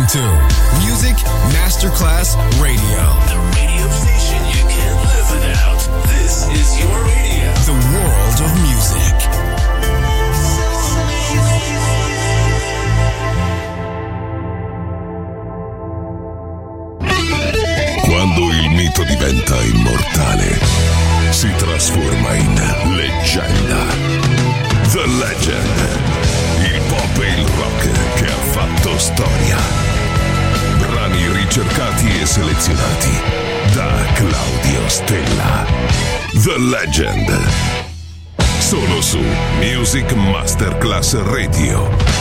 to Music Masterclass Radio. The radio station you can't live without. This is your radio. The world of music. Quando il mito diventa immortale, si trasforma in leggenda. The Legend. Il pop e il rock che ha fatto storia. Brani ricercati e selezionati da Claudio Stella. The Legend. Solo su Music Masterclass Radio.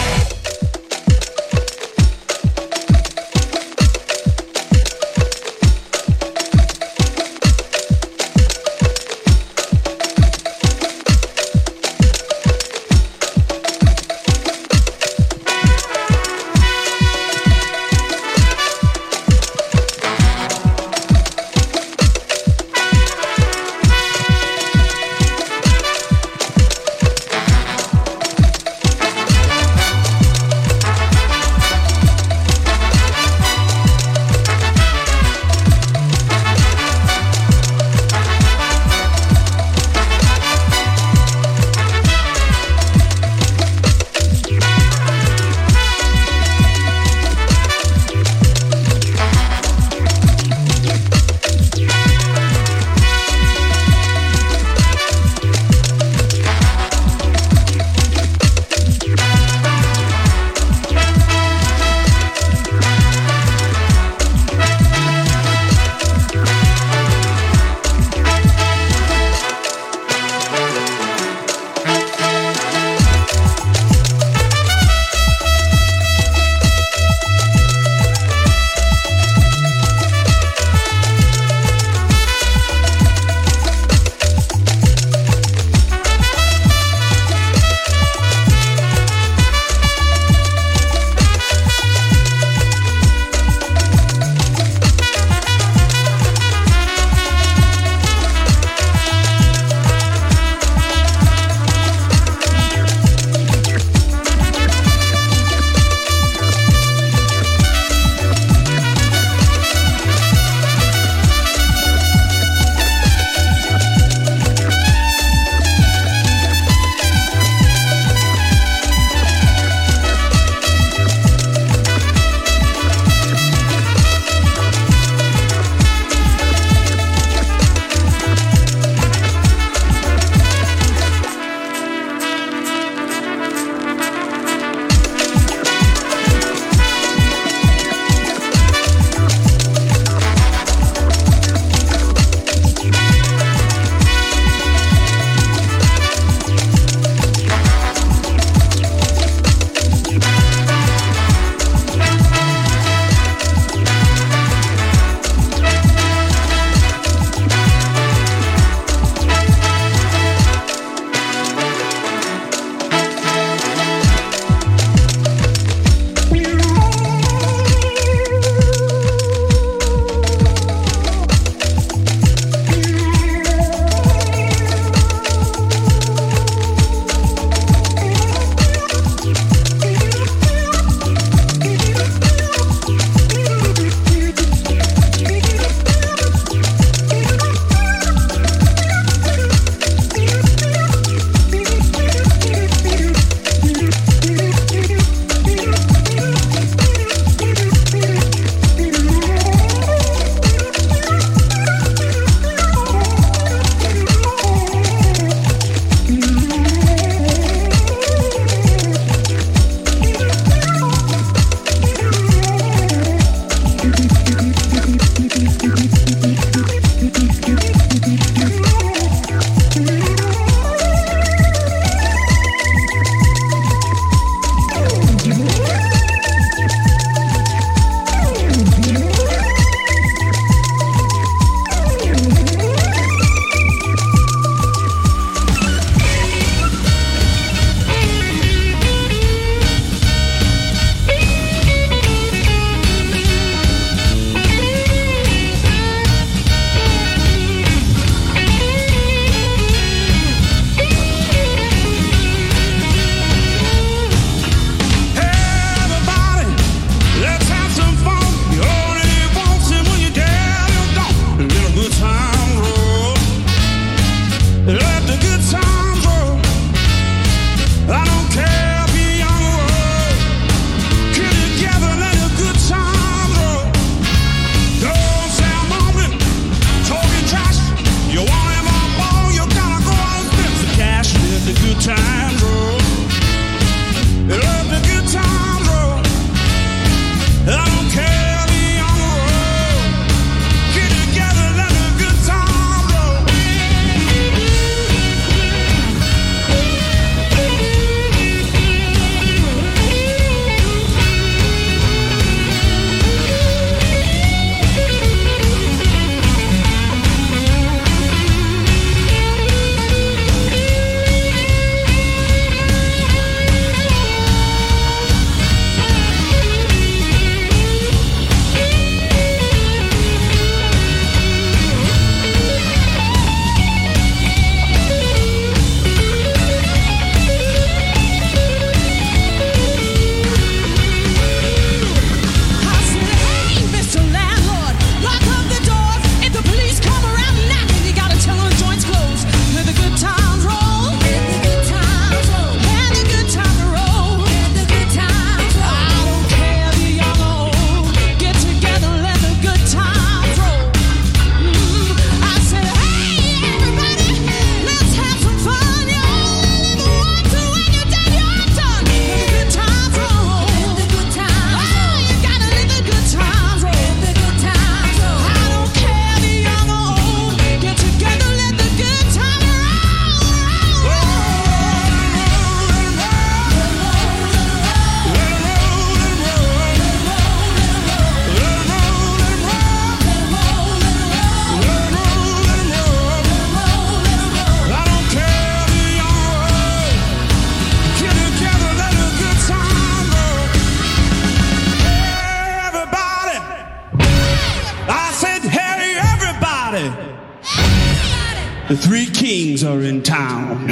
The three kings are in town.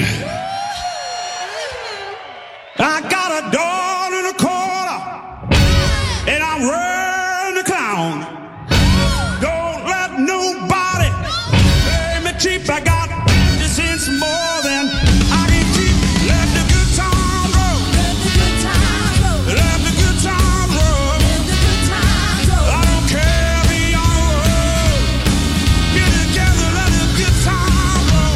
I got a dog in a corner, and I'm wearing the clown. Don't let nobody play me cheap. I got 50 cents more than I can keep. Let the good time roll. Let the good time roll. Let the good time roll. Let the good time roll. I don't care if you're young or old. Get together, let the good time roll.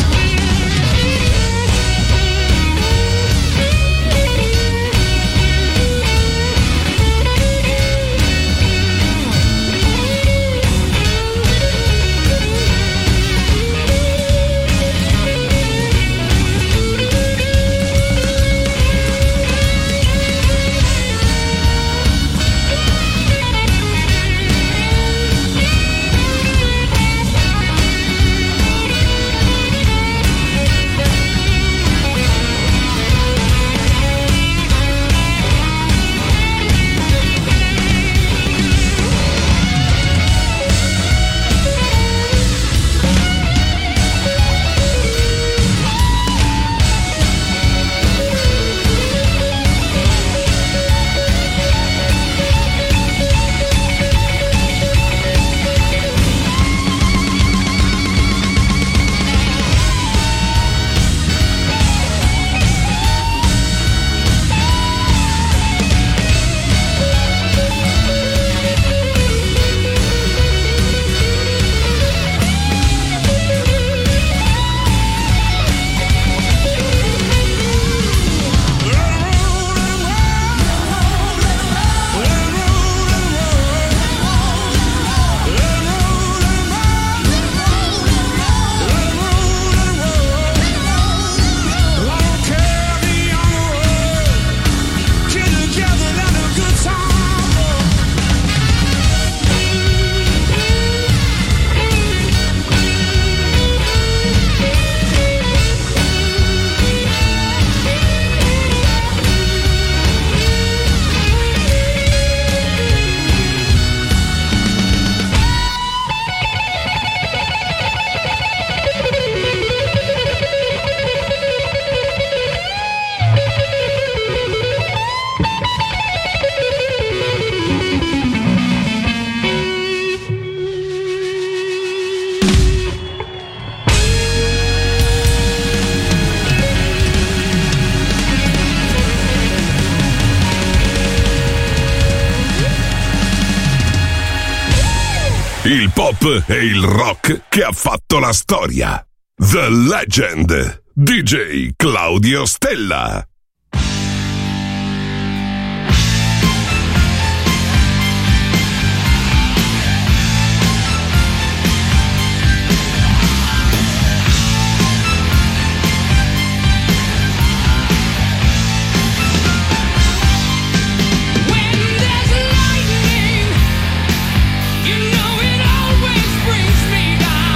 Il pop e il rock che ha fatto la storia. The Legend. DJ Claudio Stella.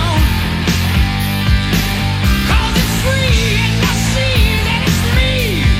Free and I see that it's me.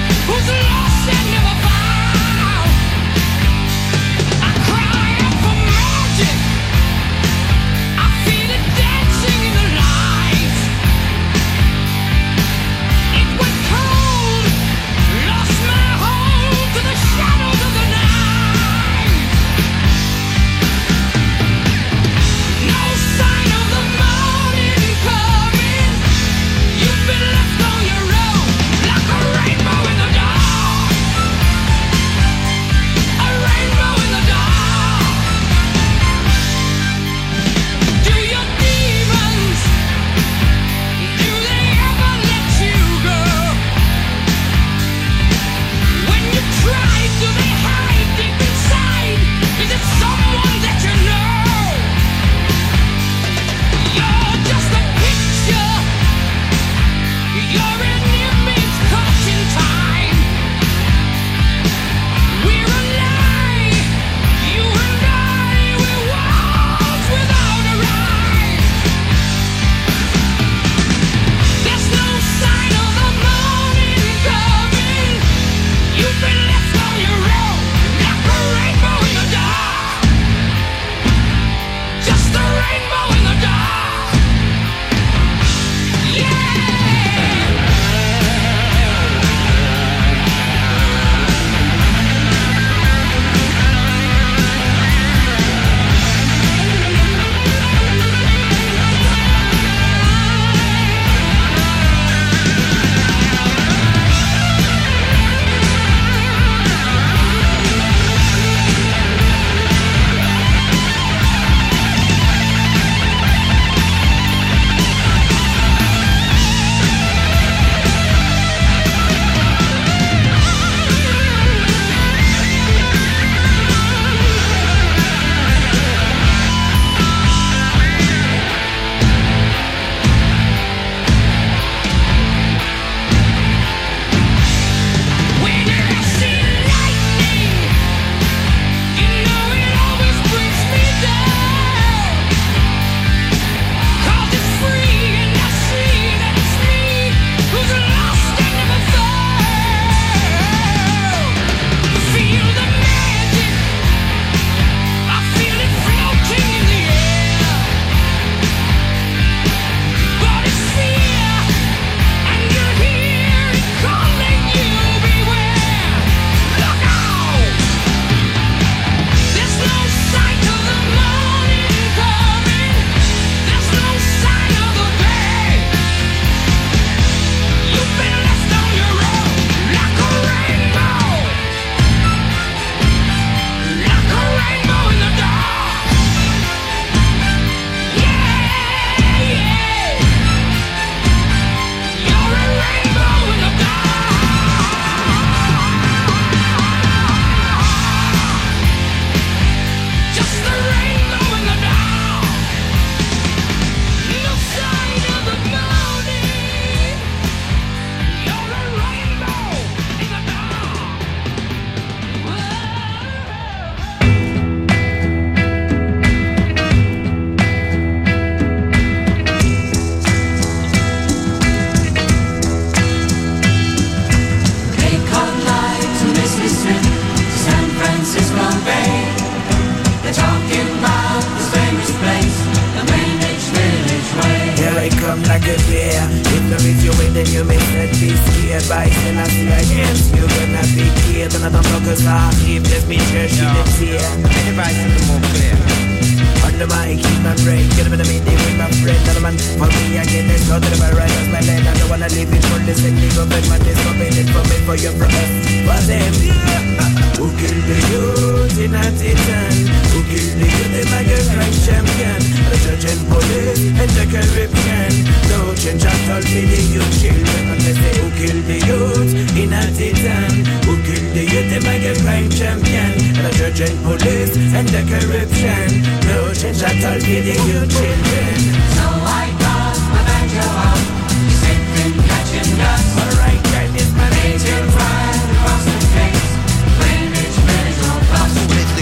the reach you with, then you may not be scared by sin. I see against you, gonna be scared. And I don't focus on if there's me church in the tear. Anybody see the more clear? Under my keep my brain, get up in the meeting with my friend. Another man, for me, I get this, go to the bar, right as my land. I don't wanna leave it for this, and leave up in my discovery, for me, for your brothers. For them, who killed the youth in a titan? Who killed the youth, the mega crime champion? The judge and police and the corruption. No change at all for the youth children. And they say, who killed the youth in a titan? Who killed the youth, the mega crime champion? The judge and police and the corruption. No change at all for the youth children. So I got my banjo out, sipping, catching dust. Alright, crime is my Raging right across the face, Greenwich Village or bust.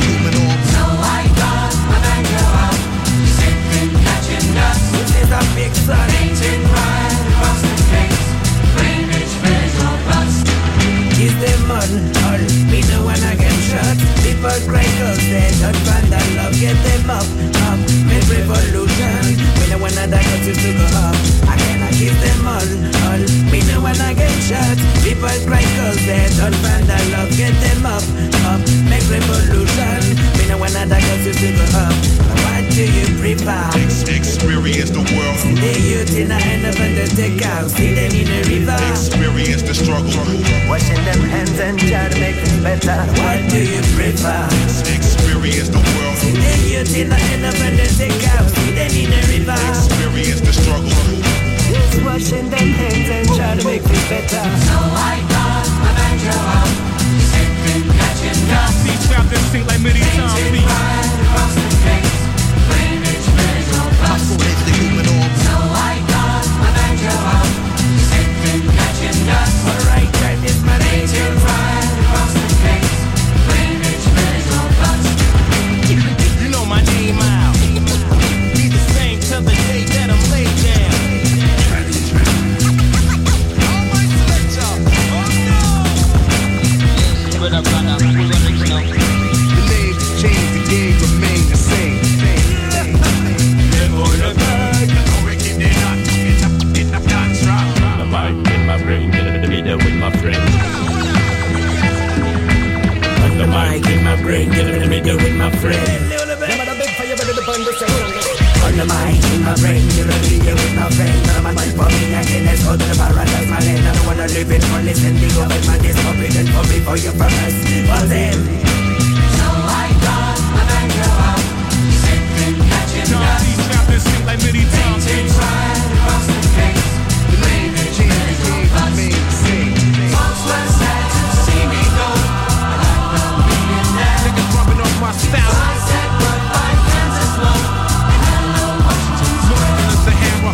So I got my banjo out, sipping, catching dust. This is a big son. Raging right across the face, Greenwich Village or bust. Is them on all? Me no one again shot. People cry cause they don't find that love. Get them up, make revolution. We no one that got you to go up. I cannot give them all. Me no one again shot. People cry cause they don't find that love. Get them up, make revolution. We no one that got you to go up. What do you prefer? Experience the world. See the youth in the end of the take out. See them in the river. Experience the struggle. Washing them hands and try to make things better. What do you prefer? Experience the world. See the youth in the end of the take out. See them in the river. Experience the struggle. Just washing them hands and try to make things better. So I got my banjo out, sipping, catching dust. Trapped in sync like midi time Raging right across the face, Greenwich Village or bust. So I got my banjo out, sipping, catching dust. Alright, time is my Raging right across the face, Greenwich Village or bust. You know my name out. Be the same till the day that I'm laid down. What up, brother? The name changed, the game remained the same. My mind in my brain, get in the middle with my friend. On the mic in my brain, get in the middle with my friend. On the mic in my brain, you're a video with my friend. None of my mind for me, I can't let's go to the paradise, my land. I don't wanna live in for listen, they go with my discomfort for me, for your purpose. For them. So I got my banjo out, sipping, catching dust. Trapped in sync like midi time. Raging right across the face, Greenwich Village or bust. Folks were sad to see me go, but I know being there. Niggas rubbing off my So style. I said goodbye, Kansas love, and hello Washington. It's the hammer.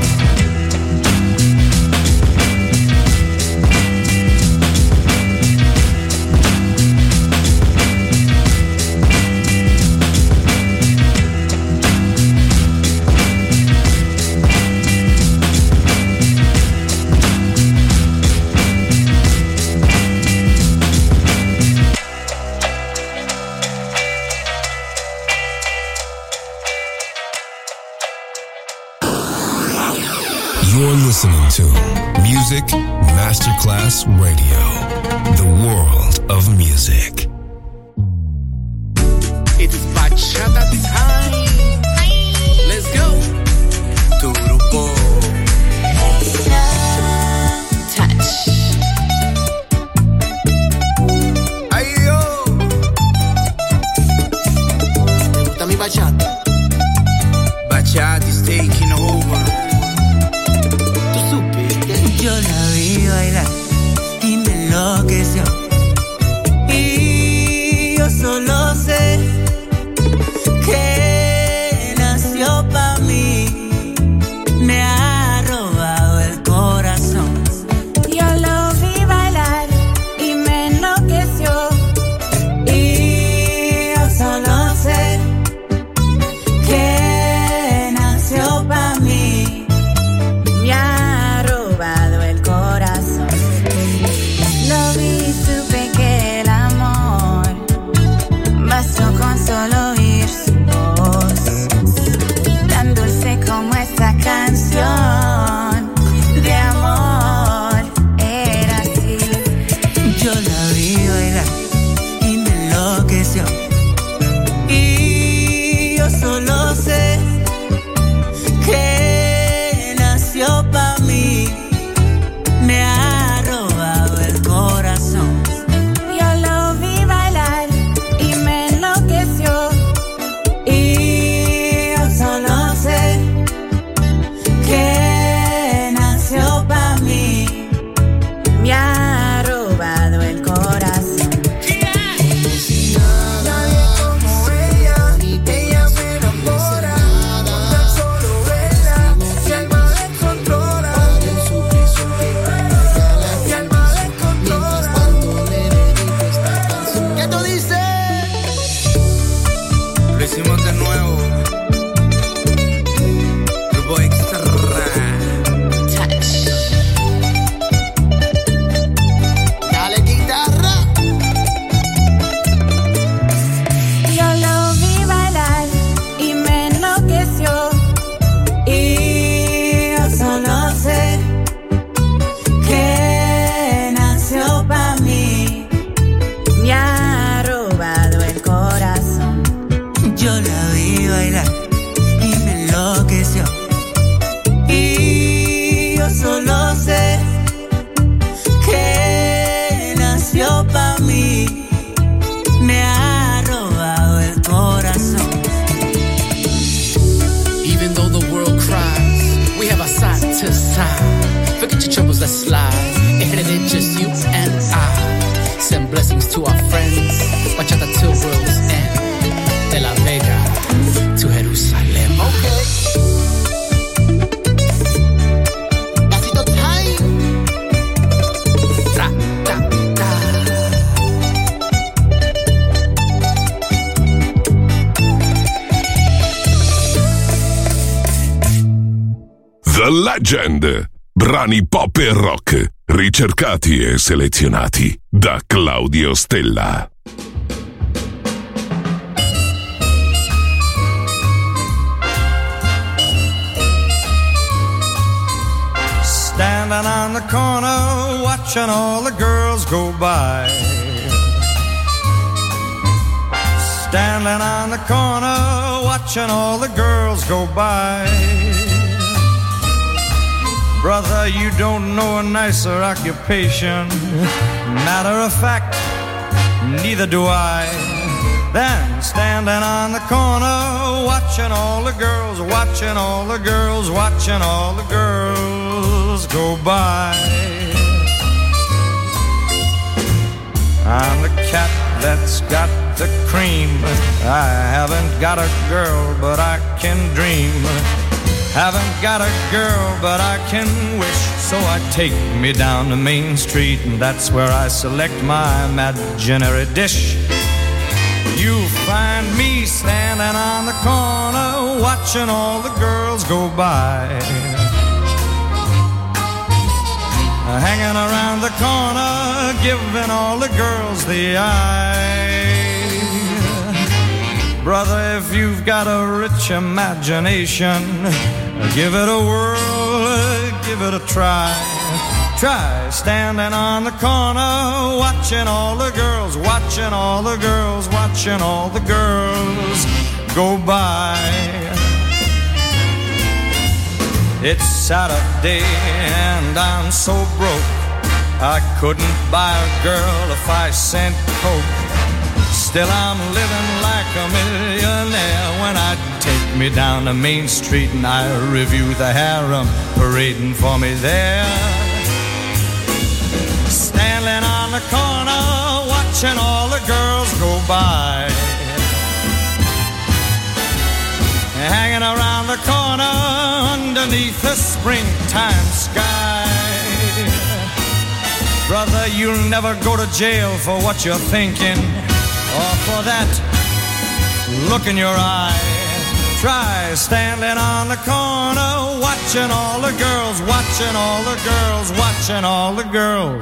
You're listening to Music Masterclass Radio, the world of music. It is bachata time. Let's go. Tu grupo. Touch. Ay, yo. ¿Te gusta mi bachata? Bachata is taking over. Yo la vi bailar y me enloqueció. a mí me ha robado el corazón. Even though the world cries, we have a side to side. Forget your troubles, let's slide. Ahead of it, just you and I. Send blessings to our friends. Bachata till world's end. De La Vega to Jerusalem. Okay. The Legend. Brani pop e rock, ricercati e selezionati da Claudio Stella. Standing on the corner, watching all the girls go by. Standing on the corner, watching all the girls go by. Brother, you don't know a nicer occupation. Matter of fact, neither do I. Then standing on the corner, watching all the girls, watching all the girls, watching all the girls go by. I'm the cat that's got the cream. I haven't got a girl, but I can dream. Haven't got a girl, but I can wish. So I take me down to Main Street, and that's where I select my imaginary dish. You find me standing on the corner, watching all the girls go by. Hanging around the corner, giving all the girls the eye. Brother, if you've got a rich imagination, give it a whirl, give it a try. Try standing on the corner, watching all the girls, watching all the girls, watching all the girls go by. It's Saturday and I'm so broke, I couldn't buy a girl a 5-cent Coke. Still I'm living like a millionaire when I take me down to Main Street and I review the harem parading for me there. Standing on the corner, watching all the girls go by. Hanging around the corner underneath the springtime sky. Brother, you'll never go to jail for what you're thinking, or for that look in your eye. Try standing on the corner, watching all the girls, watching all the girls, watching all the girls.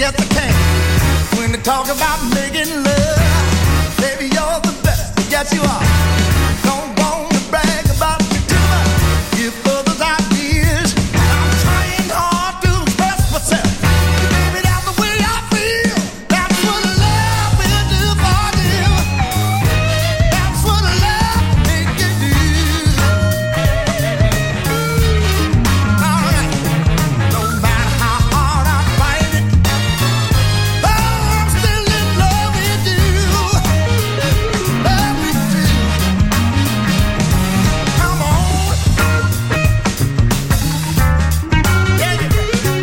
yes I can. When they talk about making love, baby, you're the best. Yes, you are. Don't want to brag about you too much. Give others ideas. I'm trying hard to express myself. Baby, that's the way I feel. That's what love will do for you. That's what love make you do. All right. No matter how hard I fight it, oh, I'm still in love with you. Love with you. Come on. Yeah, you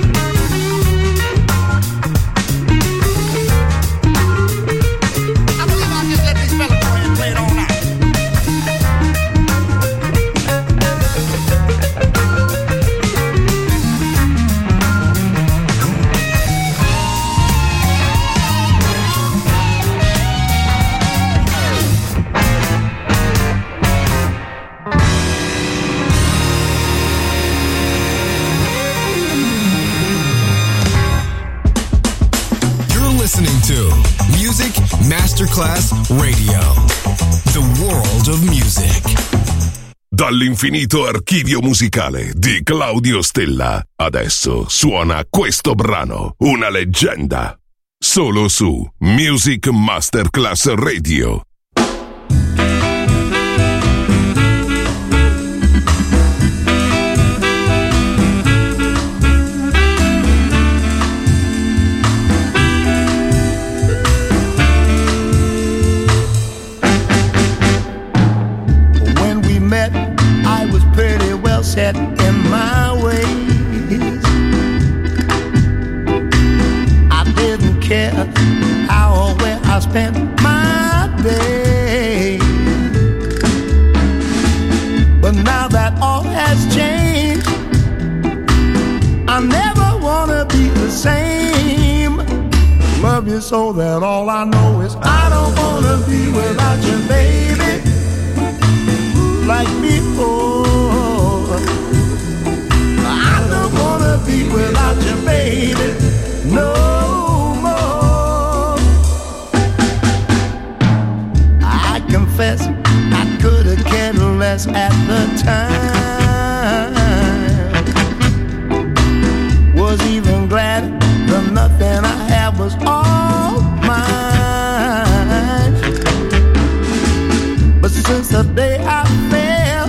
I believe I'll just let these fellas go ahead and play it all night. You're listening to Music Masterclass Radio. The world of music. Dall'infinito archivio musicale di Claudio Stella. Adesso suona questo brano, una leggenda. Solo su Music Masterclass Radio. When we met, I was pretty well set in my ways. I didn't care how or where I spent my day. But now that all has changed, I never wanna be the same. Love you so that all I know is I don't wanna be without you, baby. Like before, I don't wanna be without you, baby, no more. I confess I could've cared less at the time. Was even glad the nothing I had was all mine. But since the day I fell,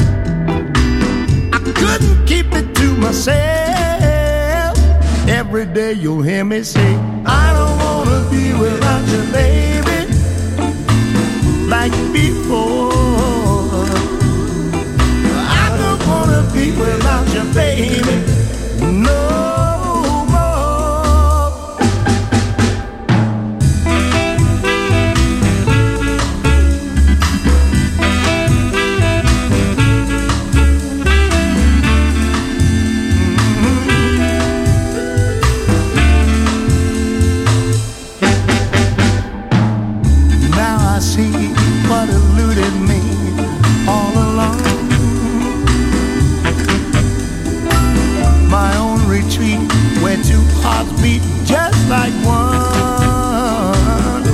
I couldn't keep it to myself. Every day you'll hear me say, I don't wanna be without you, baby, like before. I don't wanna be without you, baby, no more. Now I see what eluded me all along. My own retreat where two hearts beat just like one.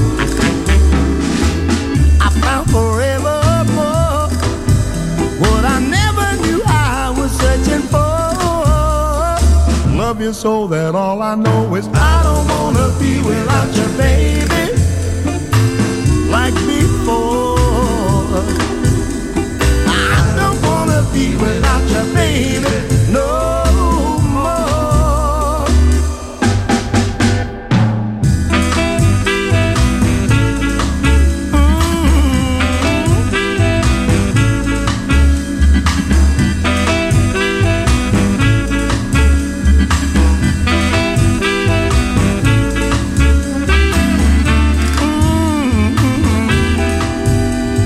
I found forevermore what I never knew I was searching for. Love you so that all I know is I don't wanna be without you, baby, like before. I don't wanna be without you, baby, no more.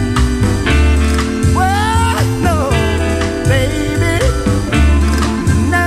Well, no, baby,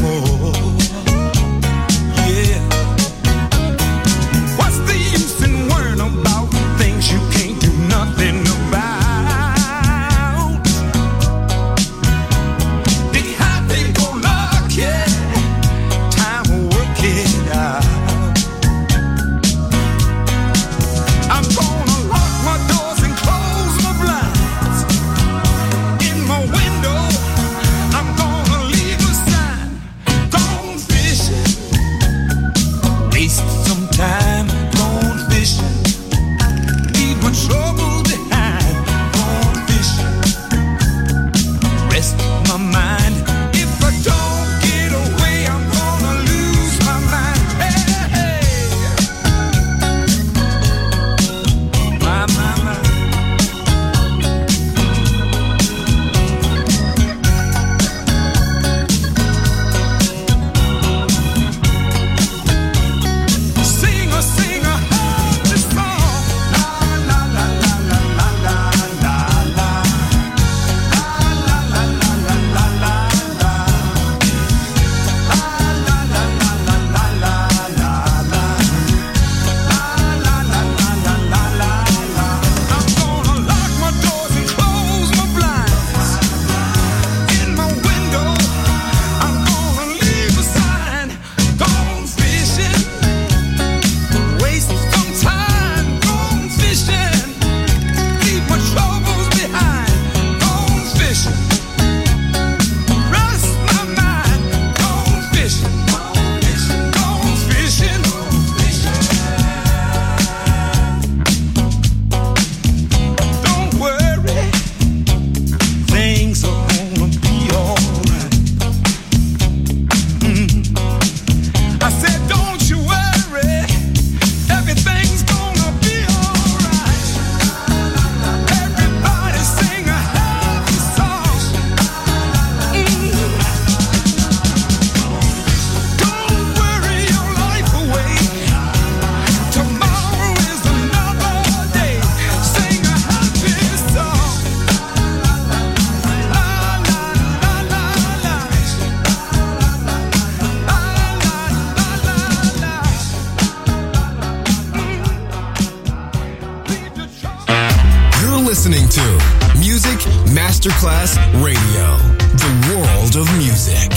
Yeah. What's the use in worrying about things you can't do nothing about? The happy go lucky, time will work it out. I'm gonna lock my doors and close my blinds. In my window, I'm gonna leave a sign. Gone fishing, waste some time. Gone fishing, leave my troubles behind. Gone fishing, rest my mind. If I don't get away, I'm gonna lose my mind. Hey, hey. My. Sing a happy song. La la la la la la la la la. La la la la la la la la. La la la la la la la la la. La la la la la la la la. I'm gonna lock my doors and close my blinds. In my window, I'm gonna leave a sign. Gone fishing, waste some time. Gone fishing, leave my troubles behind. Gone fishing, rest my mind. Gone fishing, gone fishing. Don't worry, things are gonna be alright. I said, don't you worry, everything's gonna be alright. Everybody sing a happy song. Don't worry your life away. Tomorrow is another day. Sing a happy song. La la la la la. You're listening to Music Masterclass Radio, the world of music.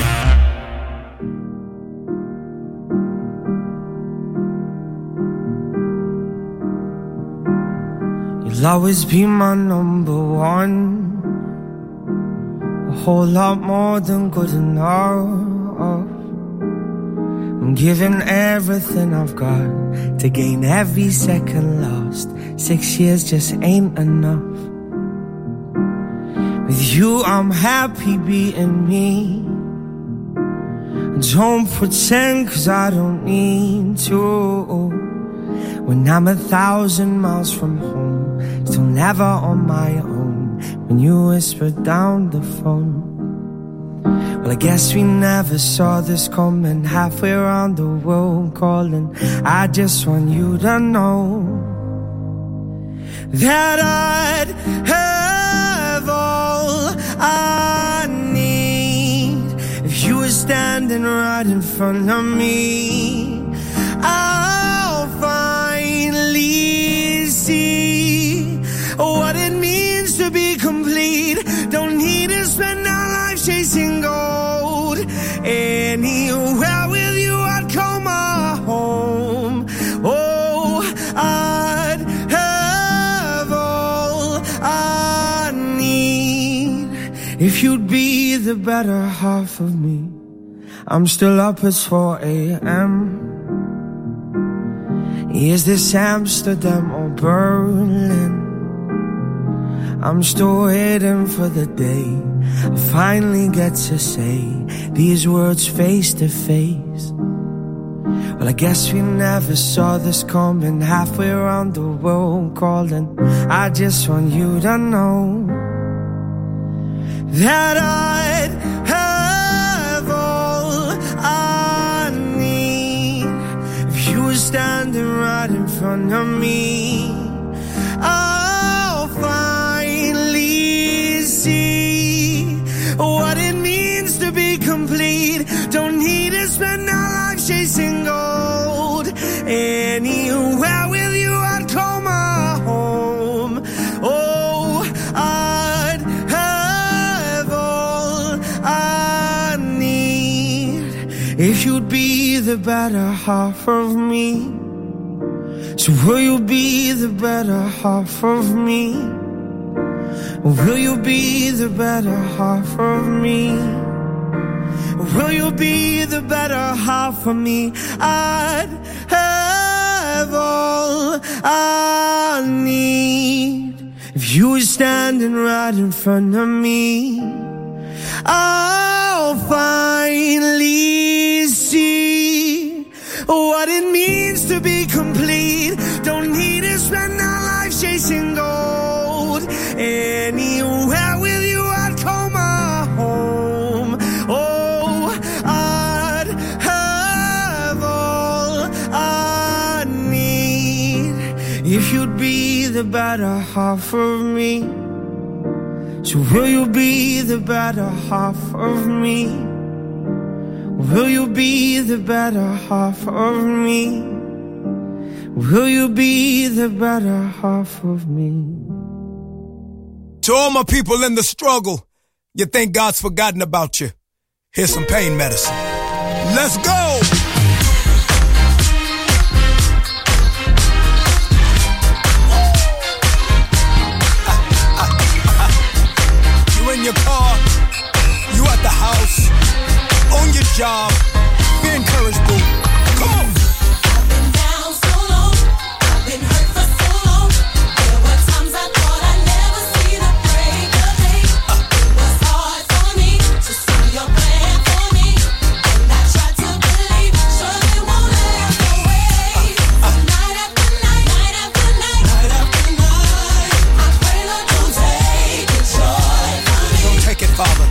You'll always be my number one. A whole lot more than good enough. I'm giving everything I've got to gain every second lost. 6 years just ain't enough. With you I'm happy being me. Don't pretend 'cause I don't need to. When I'm 1,000 miles from home, still never on my own. When you whisper down the phone. Well, I guess we never saw this coming. Halfway around the world calling. I just want you to know that I'd have all I need if you were standing right in front of me. I'll finally see what it means to be complete. Don't need to spend our life chasing gold. Anywhere with you I'd call my home. Oh, I'd have all I need if you'd be the better half of me. I'm still up at 4 a.m. Is this Amsterdam or Berlin? I'm still waiting for the day I finally get to say these words face to face. Well, I guess we never saw this coming. Halfway around the world calling. I just want you to know that I'd have all I need if you were standing right in front of me. I'll finally see what it means to be complete. if you'd be the better half of me? So will you be the better half of me? Will you be the better half of me? Will you be the better half of me? I'd have all I need if you were standing right in front of me. I'll finally see what it means to be complete. Don't need to spend our life chasing gold. Anywhere with you I'd call my home. Oh, I'd have all I need if you'd be the better half of me. So will you be the better half of me? Will you be the better half of me? Will you be the better half of me? To all my people in the struggle, you think God's forgotten about you. Here's some pain medicine. Let's go! You in your car, you at the house, on your job, be encouraged, boo. Come on! I've been down so long, I've been hurt for so long. There were times I thought I'd never see the break of day. It was hard for me to see your plan for me, and I tried to believe, sure they won't last away. So night after night, night after night, night after night, I pray Lord don't take the joy from me. Don't take it, Father.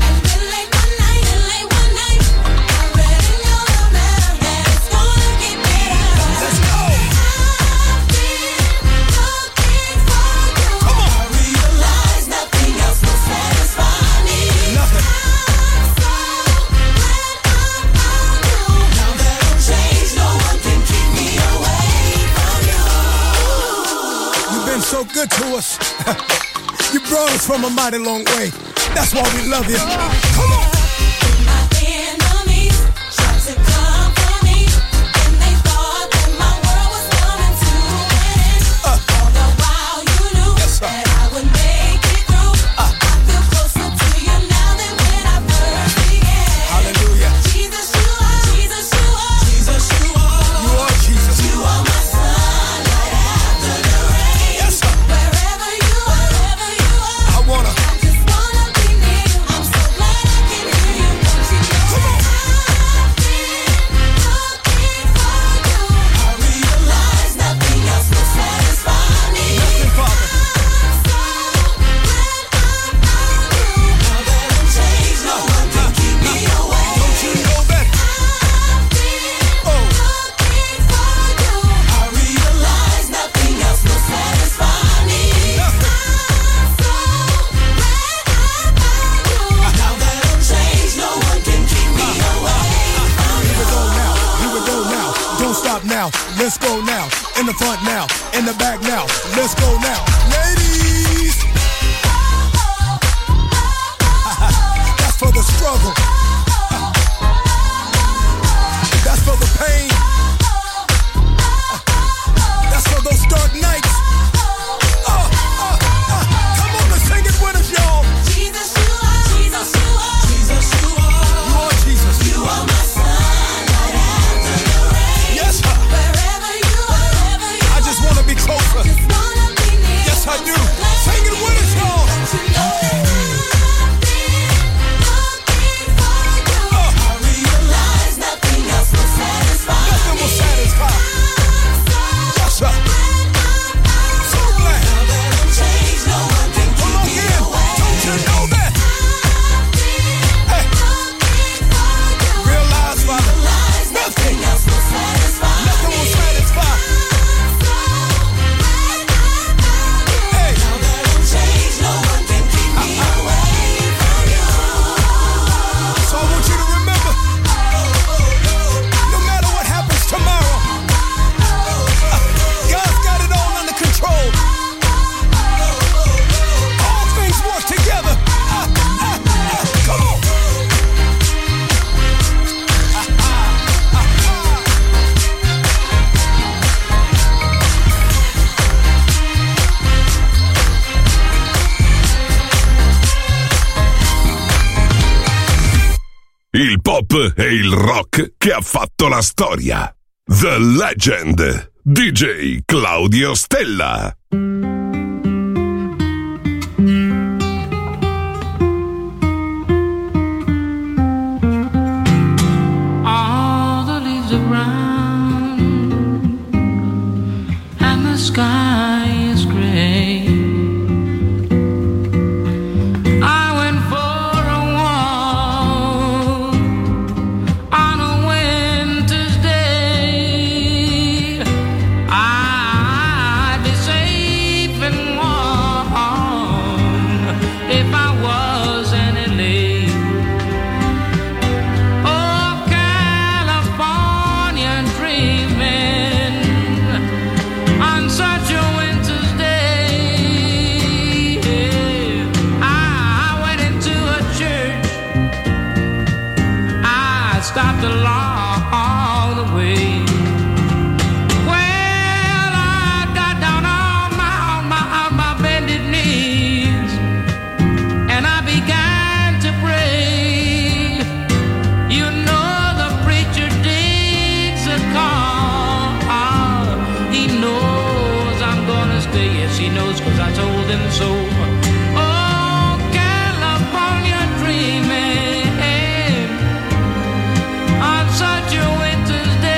So good to us. You brought us from a mighty long way. That's why we love you. Come on. My enemies tried to come for me, and they thought that my world was coming to an end. All the while you knew that I would make it through. I feel closer to you now than when I first began. Hallelujah. Jesus, you are. Jesus, you are. Jesus, you are. You are Jesus. You are my sunlight after the rain. Yes, sir. Wherever you are, I wanna. I just wanna be near you. I'm so glad I can hear you. Don't you know? Come on. I've been looking for you. I realize nothing else will satisfy me. Nothing, Father. I'm so glad I found you. Now that I'm changed, no one can keep me away. Don't you know that? I've been looking for you. I realize nothing else will satisfy me. Nothing. I'm so glad I found you. Now that I'm changed, no one can keep me away from you. Here we go now. Here we go now. Don't stop now. Let's go now. In the front now. In the back now. Let's go now. Ladies. That's for the struggle. That's for the pain. That's for those dark nights. Come on, let's sing it with us, y'all. Jesus, you are. Jesus, you are. Jesus, you are. You are Jesus. You are my sunlight after the rain. Yes, sir. Wherever you are, I just want to be closer. just wanna be near. Yes, I do. Sing it with us, y'all. You know that I've been looking for pop e il rock che ha fatto la storia. The Legend, DJ Claudio Stella. All the leaves are brown and the sky is gray. I went for a walk on a winter's day. I'd be safe and warm if I was in LA. Oh, California dreaming on such a winter's day. I went into a church. I stopped along the way. Well, I got down on my bended knees and I began to pray. You know the preacher digs a call. He knows I'm gonna stay. Yes, he knows, 'cause I told him so. Oh, California dreaming on such a winter's day.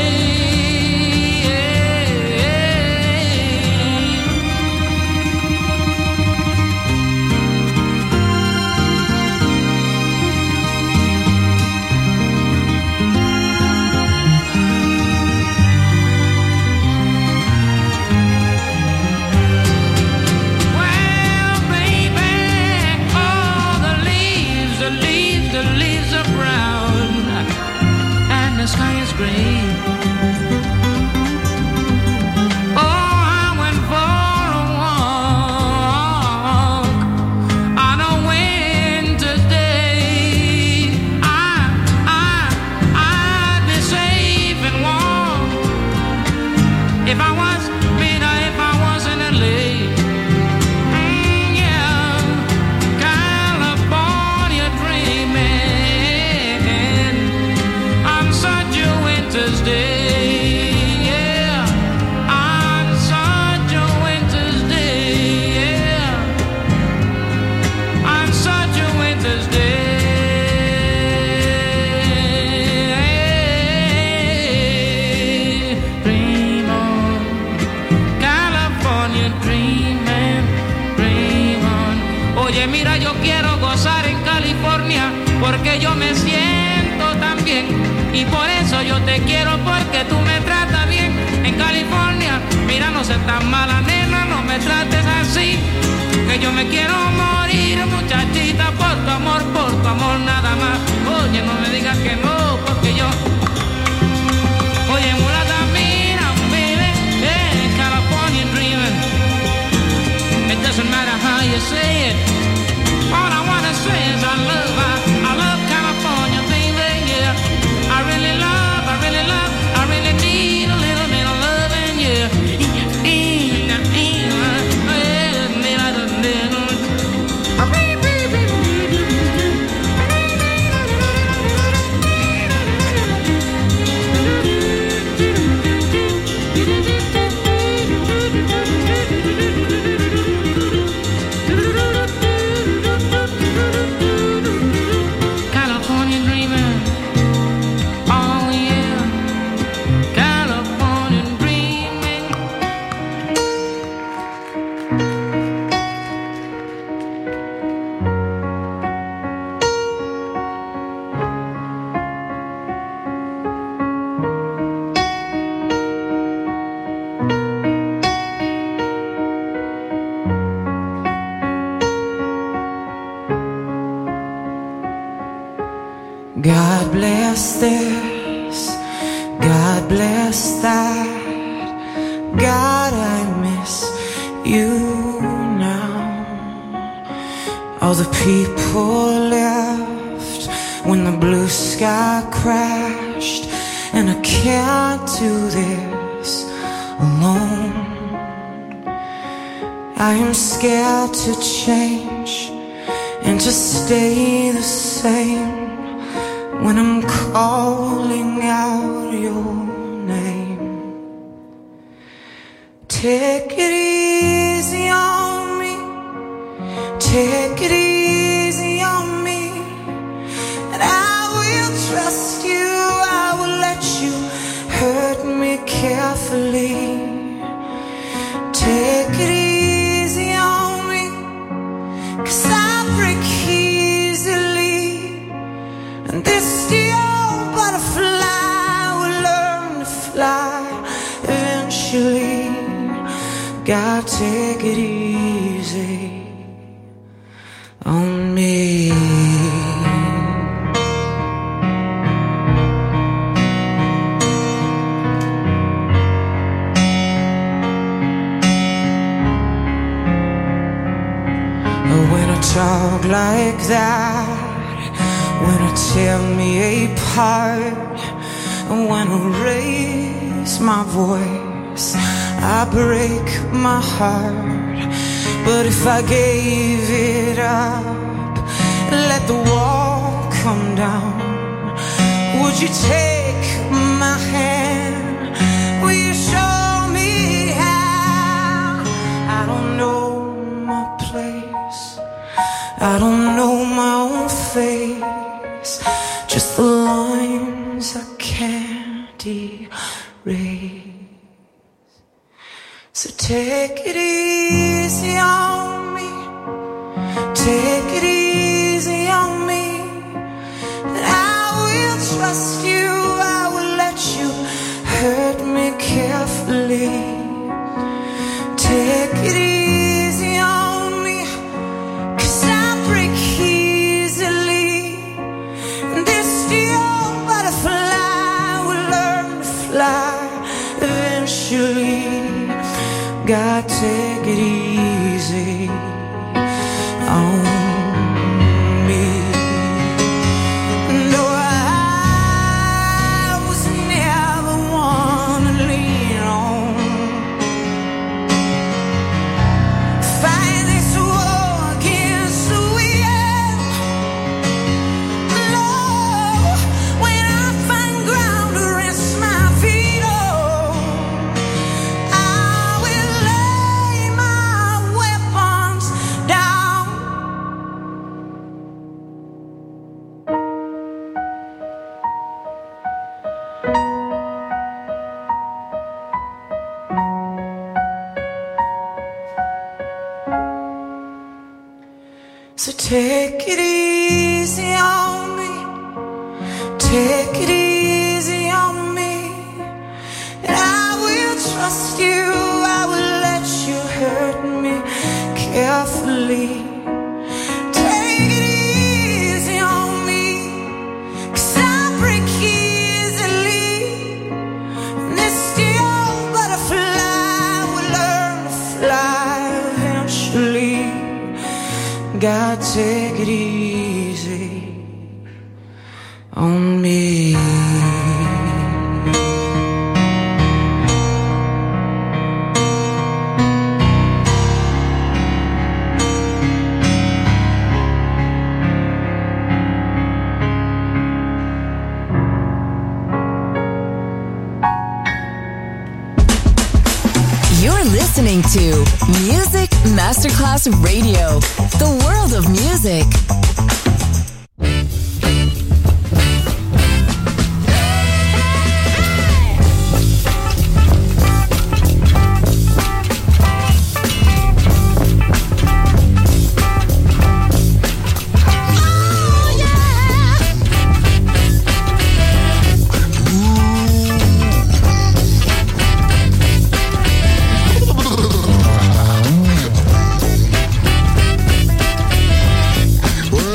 Well, baby, all the leaves are brown and the sky is gray. Oh, I went for a walk on a winter's day. I'd be safe and warm if I was in LA. Yeah, California dreaming on such a winter's day. Yeah, on such a winter's day. Yeah, on such a winter's day. Dream on, California dreaming, dream on. Oye, mira, yo quiero gozar en California porque yo me siento tan bien. Y por eso yo te quiero, porque tú me tratas bien. En California, mira, no seas tan mala, nena, no me trates así. Que yo me quiero morir, muchachita, por tu amor nada más. Oye, no me digas que no, porque yo... Oye, mulata, mira, baby, California dreaming. It doesn't matter how you say it. All I wanna say is I love California, baby, yeah. I really need a little bit of loving, yeah. California dreaming, oh yeah, California dreaming. God bless this, God bless that. God, I miss you now. All the people left when the blue sky crashed, and I can't do this alone. I am scared to change and to stay the same when I'm calling out your name. Take it easy on me, take it easy on me, and I will trust you, I will let you hurt me carefully. Take it easy on me, 'cause I break easily, and this steel butterfly will learn to fly eventually. God, take it easy on me. When I talk like that, when I tear me apart, and when I raise my voice, I break my heart. But if I gave it up, let the wall come down, would you take my hand? Will you show me how? I don't know my place, I don't know my own face, just the lines I can't erase. So take it easy on me, take it easy on me, and I will trust you, I will let you hurt me carefully. Take it easy on me, 'cause I break easily, and this steel butterfly will learn to fly eventually. God, take it easy on me. No, I was never one to lean on. Fight this war against the wind. No, when I find ground to rest my feet on, I will lay my weapons down. So take it easy on me, take it easy on me, and I will trust you, I will let you hurt me carefully. Take it easy on me, 'cause I break easily, and this steel butterfly will learn to fly eventually. God, take it easy on me. You're listening to Music Masterclass Radio, the world of music. Well,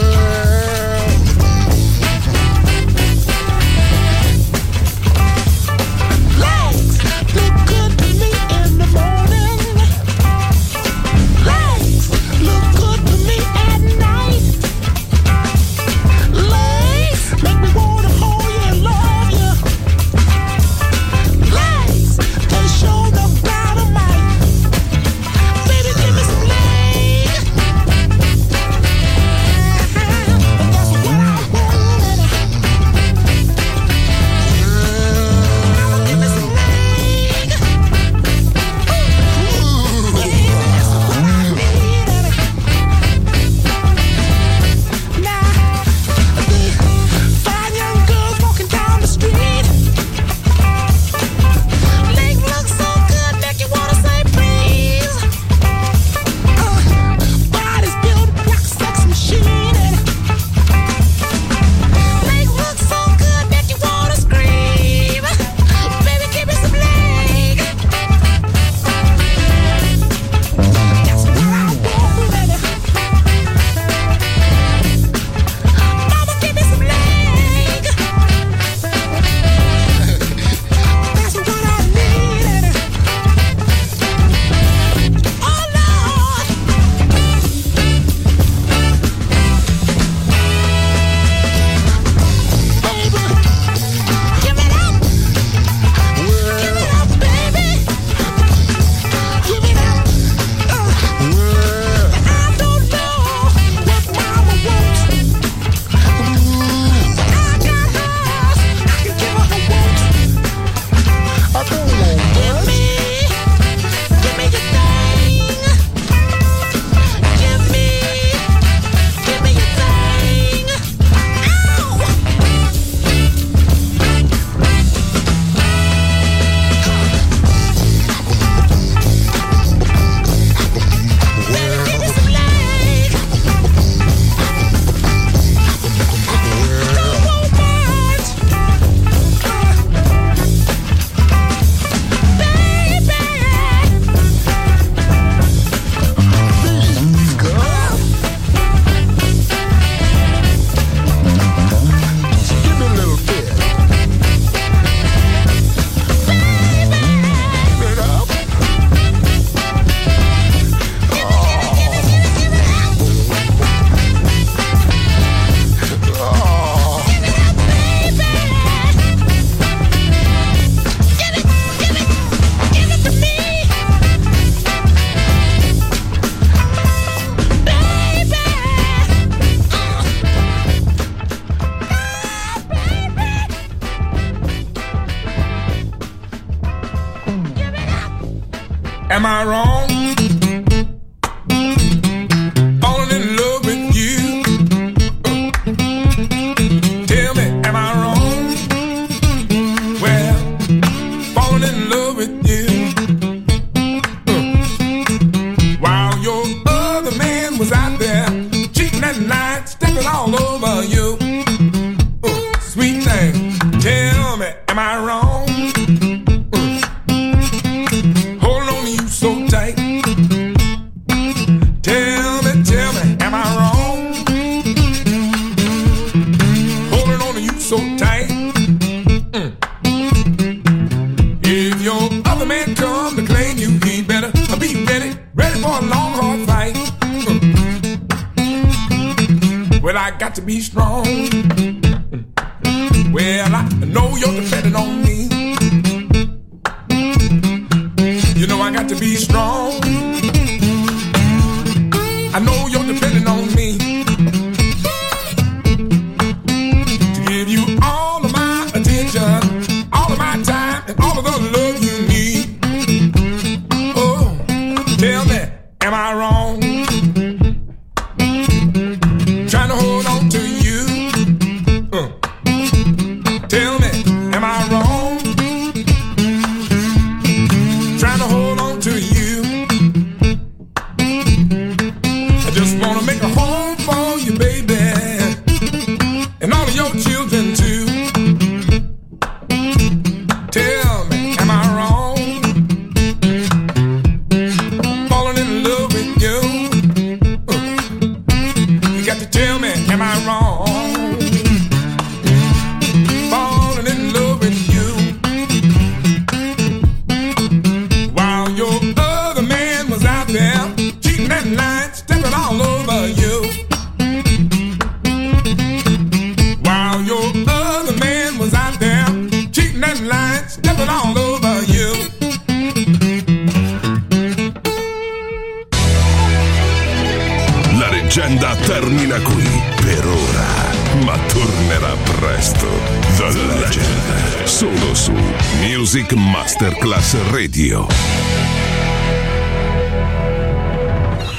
am I wrong? Falling in love with you. Tell me, am I wrong? Well, falling in love with you. While your other man was out there cheating at night, stepping all over you. Sweet thing, tell me, am I wrong? Holding on to you so tight. Tell me, am I wrong? Holding on to you so tight. If your other man come to claim you, he better be ready for a long, hard fight. Well, I got to be strong. Well, I know you're depending on me. You know I got to be strong. I know you're depending on me to give you all of my attention, all of my time, and all of the love you need. Oh, tell me, am I wrong? Trying to hold on to you. Tell me, am I wrong? Trying to hold on to you. I just wanna make a home for you, baby, and all of your children too. Tell me, am I wrong? Falling in love with you. You got to tell me, am I wrong? Falling in love with you. While your other man was out there cheating at night, stepping all over you. While your other man was out there cheating at night, stepping all over you. La leggenda termina qui per ora, ma tornerà presto. The Legend, solo su Music Masterclass Radio.